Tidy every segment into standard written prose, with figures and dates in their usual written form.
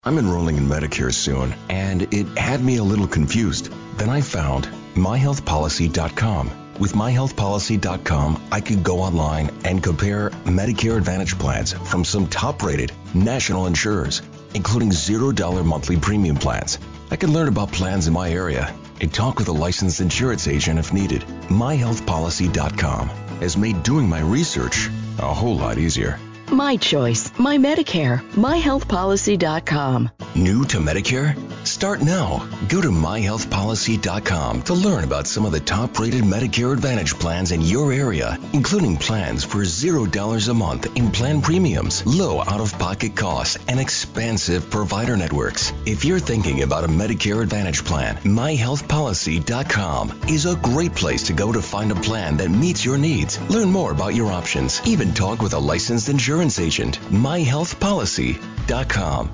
I'm enrolling in Medicare soon, and it had me a little confused. Then I found myhealthpolicy.com. With myhealthpolicy.com, I could go online and compare Medicare Advantage plans from some top-rated national insurers, including $0 monthly premium plans. I could learn about plans in my area and talk with a licensed insurance agent if needed. myhealthpolicy.com has made doing my research a whole lot easier. My choice, my Medicare, myhealthpolicy.com. New to Medicare? Start now. Go to myhealthpolicy.com to learn about some of the top-rated Medicare Advantage plans in your area, including plans for $0 a month in plan premiums, low out-of-pocket costs, and expansive provider networks. If you're thinking about a Medicare Advantage plan, myhealthpolicy.com is a great place to go to find a plan that meets your needs. Learn more about your options. Even talk with a licensed insurance agent. myhealthpolicy.com.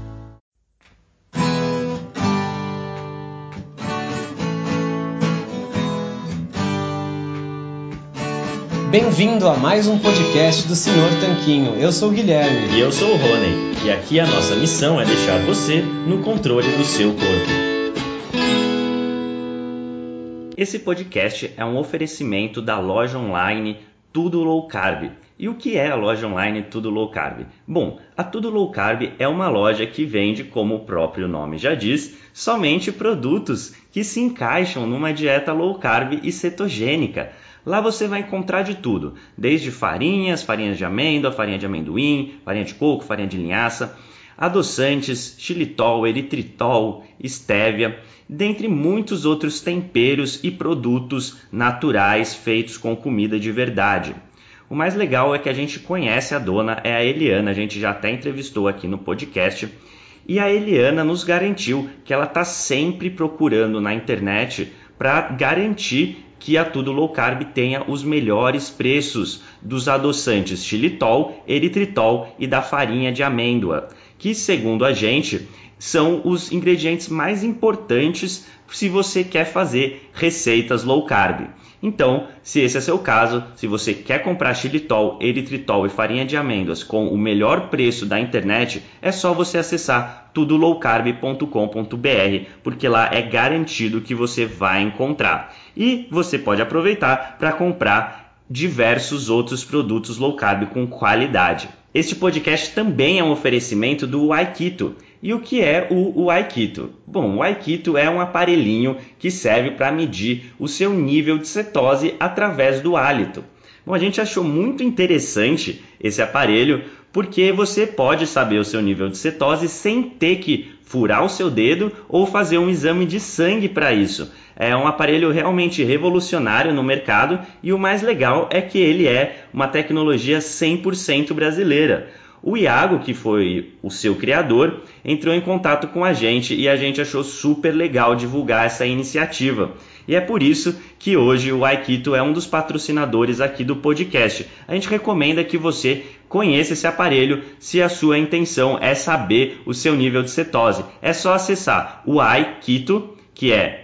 Bem-vindo a mais um podcast do Senhor Tanquinho. Eu sou o Guilherme. E eu sou o Rony. E aqui a nossa missão é deixar você no controle do seu corpo. Esse podcast é um oferecimento da loja online Tudo Low Carb. E o que é a loja online Tudo Low Carb? Bom, a Tudo Low Carb é uma loja que vende, como o próprio nome já diz, somente produtos que se encaixam numa dieta low carb e cetogênica. Lá você vai encontrar de tudo, desde farinhas de amêndoa, farinha de amendoim, farinha de coco, farinha de linhaça, adoçantes, xilitol, eritritol, estévia, dentre muitos outros temperos e produtos naturais feitos com comida de verdade. O mais legal é que a gente conhece a dona, é a Eliana, a gente já até entrevistou aqui no podcast, e a Eliana nos garantiu que ela está sempre procurando na internet para garantir que a Tudo Low Carb tenha os melhores preços dos adoçantes xilitol, eritritol e da farinha de amêndoa, que, segundo a gente, são os ingredientes mais importantes se você quer fazer receitas low carb. Então, se esse é seu caso, se você quer comprar xilitol, eritritol e farinha de amêndoas com o melhor preço da internet, é só você acessar tudolowcarb.com.br, porque lá é garantido que você vai encontrar. E você pode aproveitar para comprar diversos outros produtos low carb com qualidade. Este podcast também é um oferecimento do Aikito. E o que é o Aikito? Bom, o Aikito é um aparelhinho que serve para medir o seu nível de cetose através do hálito. Bom, a gente achou muito interessante esse aparelho porque você pode saber o seu nível de cetose sem ter que furar o seu dedo ou fazer um exame de sangue para isso. É um aparelho realmente revolucionário no mercado e o mais legal é que ele é uma tecnologia 100% brasileira. O Iago, que foi o seu criador, entrou em contato com a gente e a gente achou super legal divulgar essa iniciativa. E é por isso que hoje o Aikito é um dos patrocinadores aqui do podcast. A gente recomenda que você conheça esse aparelho se a sua intenção é saber o seu nível de cetose. É só acessar o Aikito, que é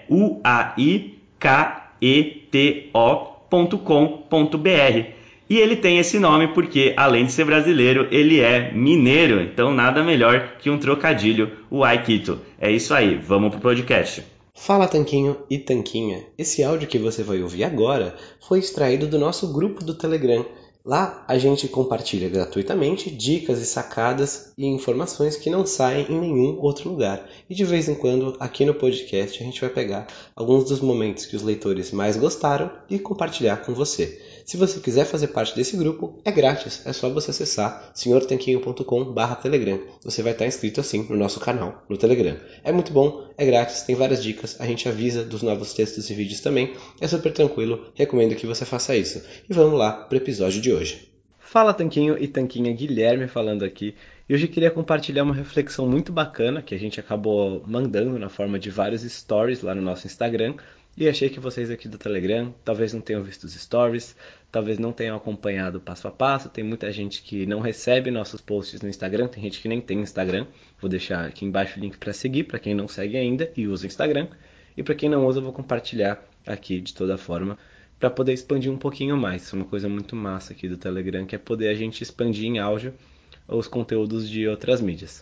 uaiketo.com.br. E ele tem esse nome porque, além de ser brasileiro, ele é mineiro. Então, nada melhor que um trocadilho, o Aikito. É isso aí, vamos pro podcast. Fala Tanquinho e Tanquinha. Esse áudio que você vai ouvir agora foi extraído do nosso grupo do Telegram. Lá a gente compartilha gratuitamente dicas e sacadas e informações que não saem em nenhum outro lugar. E de vez em quando, aqui no podcast, a gente vai pegar alguns dos momentos que os leitores mais gostaram e compartilhar com você. Se você quiser fazer parte desse grupo, é grátis. É só você acessar senhortanquinho.com/telegram. Você vai estar inscrito assim no nosso canal, no Telegram. É muito bom, é grátis, tem várias dicas. A gente avisa dos novos textos e vídeos também. É super tranquilo, recomendo que você faça isso. E vamos lá para o episódio de hoje. Fala Tanquinho e Tanquinha, Guilherme falando aqui. E hoje eu queria compartilhar uma reflexão muito bacana que a gente acabou mandando na forma de vários stories lá no nosso Instagram. E achei que vocês aqui do Telegram talvez não tenham visto os stories, talvez não tenham acompanhado passo a passo. Tem muita gente que não recebe nossos posts no Instagram, tem gente que nem tem Instagram. Vou deixar aqui embaixo o link para seguir, para quem não segue ainda e usa Instagram. E para quem não usa, eu vou compartilhar aqui de toda forma, para poder expandir um pouquinho mais. Isso é uma coisa muito massa aqui do Telegram, que é poder a gente expandir em áudio os conteúdos de outras mídias.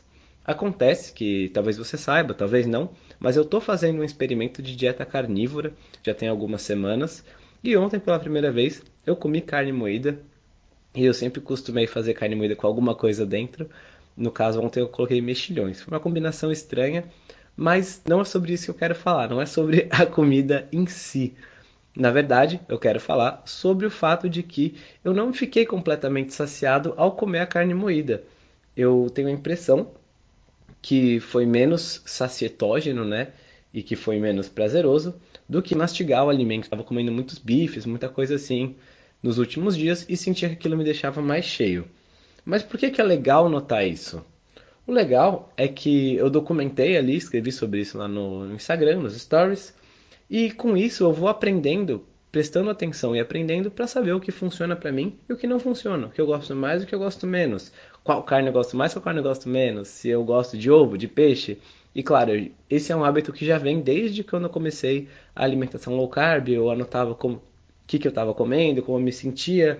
Acontece que talvez você saiba, talvez não, mas eu estou fazendo um experimento de dieta carnívora, já tem algumas semanas, e ontem pela primeira vez eu comi carne moída, e eu sempre costumei fazer carne moída com alguma coisa dentro. No caso, ontem eu coloquei mexilhões. Foi uma combinação estranha, mas não é sobre isso que eu quero falar, não é sobre a comida em si. Na verdade, eu quero falar sobre o fato de que eu não fiquei completamente saciado ao comer a carne moída. Eu tenho a impressão que foi menos sacietógeno, né? E que foi menos prazeroso do que mastigar o alimento. Estava comendo muitos bifes, muita coisa assim nos últimos dias e sentia que aquilo me deixava mais cheio. Mas por que é legal notar isso? O legal é que eu documentei ali, escrevi sobre isso lá no Instagram, nos stories, e com isso eu vou aprendendo, prestando atenção e aprendendo para saber o que funciona para mim e o que não funciona, o que eu gosto mais e o que eu gosto menos, qual carne eu gosto mais, qual carne eu gosto menos, se eu gosto de ovo, de peixe. E claro, esse é um hábito que já vem desde quando eu comecei a alimentação low carb, eu anotava como que eu estava comendo, como eu me sentia,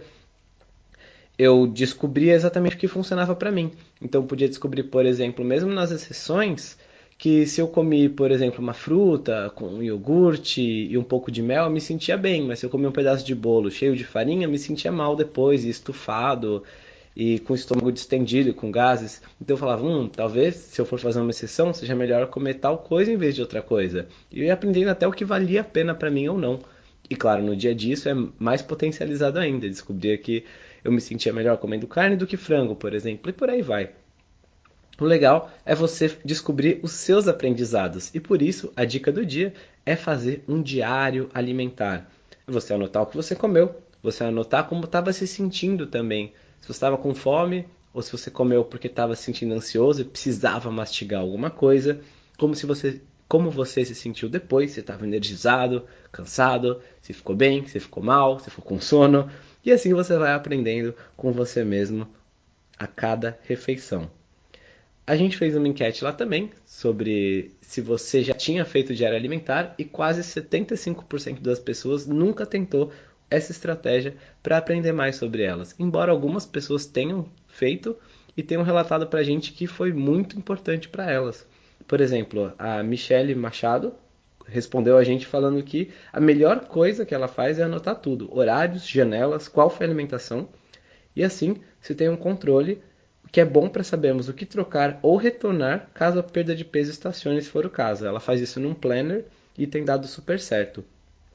eu descobria exatamente o que funcionava para mim. Então eu podia descobrir, por exemplo, mesmo nas exceções, que se eu comi, por exemplo, uma fruta com um iogurte e um pouco de mel, eu me sentia bem, mas se eu comi um pedaço de bolo cheio de farinha, eu me sentia mal depois, e estufado, e com o estômago distendido, com gases. Então eu falava, talvez se eu for fazer uma exceção, seja melhor comer tal coisa em vez de outra coisa. E eu ia aprendendo até o que valia a pena para mim ou não. E claro, no dia a dia isso é mais potencializado ainda. Descobrir que eu me sentia melhor comendo carne do que frango, por exemplo, e por aí vai. O legal é você descobrir os seus aprendizados. E por isso, a dica do dia é fazer um diário alimentar. Você anotar o que você comeu, você anotar como estava se sentindo também. Se você estava com fome, ou se você comeu porque estava se sentindo ansioso e precisava mastigar alguma coisa, como você se sentiu depois, se estava energizado, cansado, se ficou bem, se ficou mal, se ficou com sono. E assim você vai aprendendo com você mesmo a cada refeição. A gente fez uma enquete lá também sobre se você já tinha feito diário alimentar e quase 75% das pessoas nunca tentou essa estratégia para aprender mais sobre elas. Embora algumas pessoas tenham feito e tenham relatado para a gente que foi muito importante para elas. Por exemplo, a Michelle Machado respondeu a gente falando que a melhor coisa que ela faz é anotar tudo: horários, janelas, qual foi a alimentação, e assim se tem um controle que é bom para sabermos o que trocar ou retornar caso a perda de peso estacione, se for o caso. Ela faz isso num planner e tem dado super certo.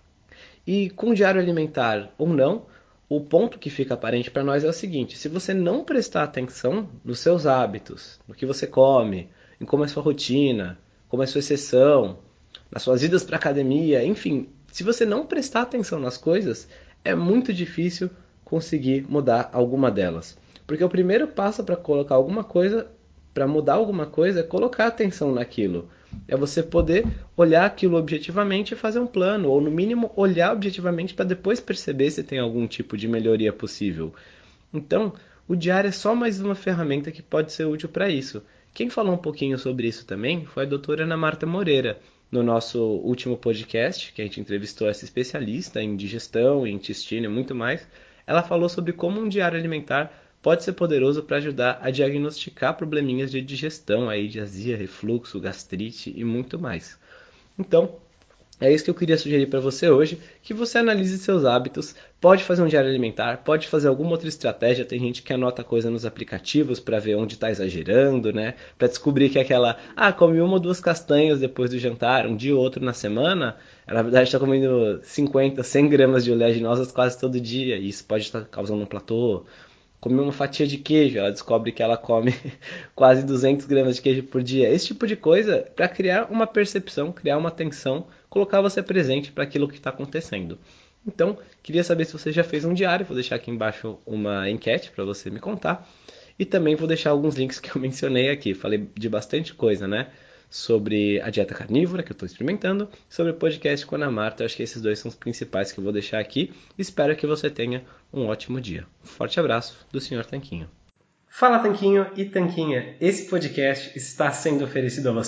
E com diário alimentar ou não, o ponto que fica aparente para nós é o seguinte: se você não prestar atenção nos seus hábitos, no que você come, em como é a sua rotina, como é a sua exceção, nas suas idas para academia, enfim, se você não prestar atenção nas coisas, é muito difícil conseguir mudar alguma delas. Porque o primeiro passo para colocar alguma coisa, para mudar alguma coisa, é colocar atenção naquilo. É você poder olhar aquilo objetivamente e fazer um plano, ou no mínimo olhar objetivamente para depois perceber se tem algum tipo de melhoria possível. Então, o diário é só mais uma ferramenta que pode ser útil para isso. Quem falou um pouquinho sobre isso também foi a doutora Ana Marta Moreira, no nosso último podcast, que a gente entrevistou essa especialista em digestão, em intestino e muito mais. Ela falou sobre como um diário alimentar pode ser poderoso para ajudar a diagnosticar probleminhas de digestão, aí, de azia, refluxo, gastrite e muito mais. Então, é isso que eu queria sugerir para você hoje, que você analise seus hábitos, pode fazer um diário alimentar, pode fazer alguma outra estratégia, tem gente que anota coisa nos aplicativos para ver onde está exagerando, né? Para descobrir que aquela, comi uma ou duas castanhas depois do jantar, um dia ou outro na semana, ela, na verdade está comendo 50, 100 gramas de oleaginosas quase todo dia, e isso pode estar causando um platô. Comer uma fatia de queijo, ela descobre que ela come quase 200 gramas de queijo por dia. Esse tipo de coisa para criar uma percepção, criar uma atenção, colocar você presente para aquilo que está acontecendo. Então, queria saber se você já fez um diário, vou deixar aqui embaixo uma enquete para você me contar. E também vou deixar alguns links que eu mencionei aqui. Falei de bastante coisa, né? Sobre a dieta carnívora que eu estou experimentando, sobre o podcast com a Ana Marta. Eu acho que esses dois são os principais que eu vou deixar aqui. Espero que você tenha um ótimo dia. Um forte abraço do Sr. Tanquinho. Fala Tanquinho e Tanquinha, esse podcast está sendo oferecido a você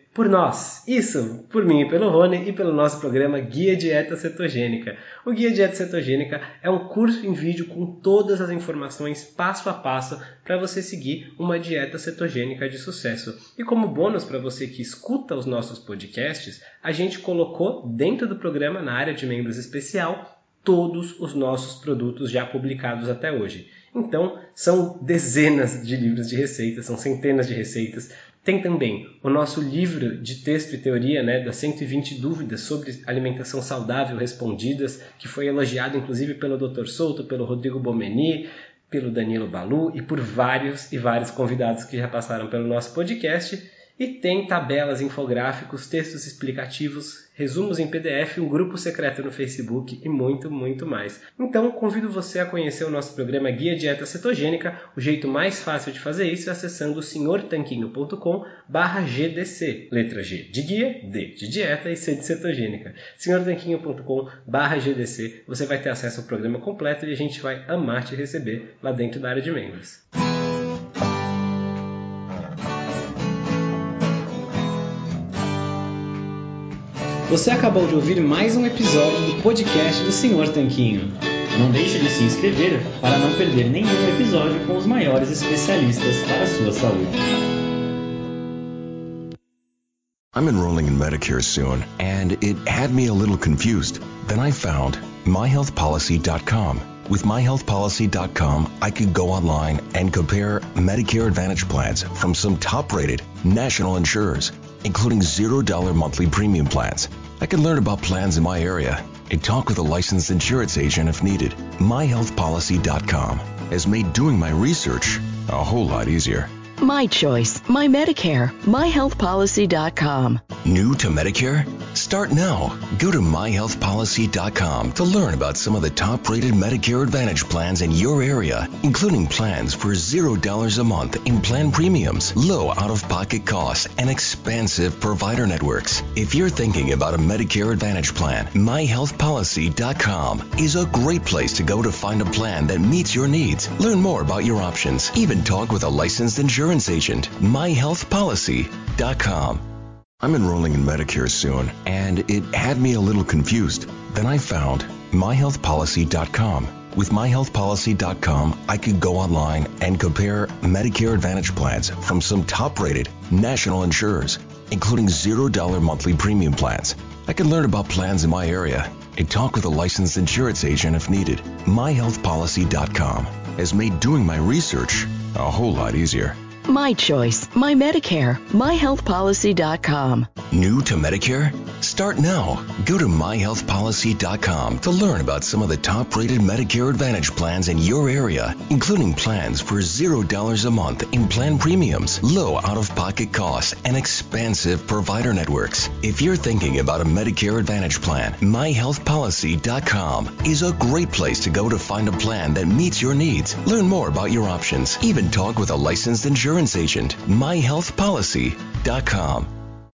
Por nós, isso, por mim e pelo Rony e pelo nosso programa Guia Dieta Cetogênica. O Guia Dieta Cetogênica é um curso em vídeo com todas as informações passo a passo para você seguir uma dieta cetogênica de sucesso. E como bônus para você que escuta os nossos podcasts, a gente colocou dentro do programa, na área de membros especial, todos os nossos produtos já publicados até hoje. Então, são dezenas de livros de receitas, são centenas de receitas. Tem também o nosso livro de texto e teoria, das 120 dúvidas sobre alimentação saudável respondidas, que foi elogiado inclusive pelo Dr. Souto, pelo Rodrigo Bomeni, pelo Danilo Balu e por vários e vários convidados que já passaram pelo nosso podcast. E tem tabelas, infográficos, textos explicativos, resumos em PDF, um grupo secreto no Facebook e muito, muito mais. Então, convido você a conhecer o nosso programa Guia Dieta Cetogênica. O jeito mais fácil de fazer isso é acessando senhortanquinho.com/GDC. Letra G de guia, D de dieta e C de cetogênica. senhortanquinho.com/GDC. Você vai ter acesso ao programa completo e a gente vai amar te receber lá dentro da área de membros. Você acabou de ouvir mais um episódio do podcast do Senhor Tanquinho. Não deixe de se inscrever para não perder nenhum episódio com os maiores especialistas para a sua saúde. I'm enrolling in Medicare soon, and it had me a little confused. Then I found myhealthpolicy.com. With myhealthpolicy.com, I could go online and compare Medicare Advantage plans from some top-rated national insurers, including $0 monthly premium plans. I can learn about plans in my area and talk with a licensed insurance agent if needed. MyHealthPolicy.com has made doing my research a whole lot easier. My choice, my Medicare, myhealthpolicy.com. New to Medicare? Start now. Go to myhealthpolicy.com to learn about some of the top-rated Medicare Advantage plans in your area, including plans for $0 a month in plan premiums, low out-of-pocket costs, and expansive provider networks. If you're thinking about a Medicare Advantage plan, myhealthpolicy.com is a great place to go to find a plan that meets your needs. Learn more about your options. Even talk with a licensed insurance agent. myhealthpolicy.com. I'm enrolling in Medicare soon, and it had me a little confused. Then I found myhealthpolicy.com. With myhealthpolicy.com, I could go online and compare Medicare Advantage plans from some top-rated national insurers, including $0 monthly premium plans. I can learn about plans in my area and talk with a licensed insurance agent if needed. myhealthpolicy.com has made doing my research a whole lot easier. My choice, my Medicare, myhealthpolicy.com. New to Medicare? Start now. Go to myhealthpolicy.com to learn about some of the top-rated Medicare Advantage plans in your area, including plans for $0 a month in plan premiums, low out-of-pocket costs, and expansive provider networks. If you're thinking about a Medicare Advantage plan, myhealthpolicy.com is a great place to go to find a plan that meets your needs. Learn more about your options. Even talk with a licensed insurance agent. myhealthpolicy.com.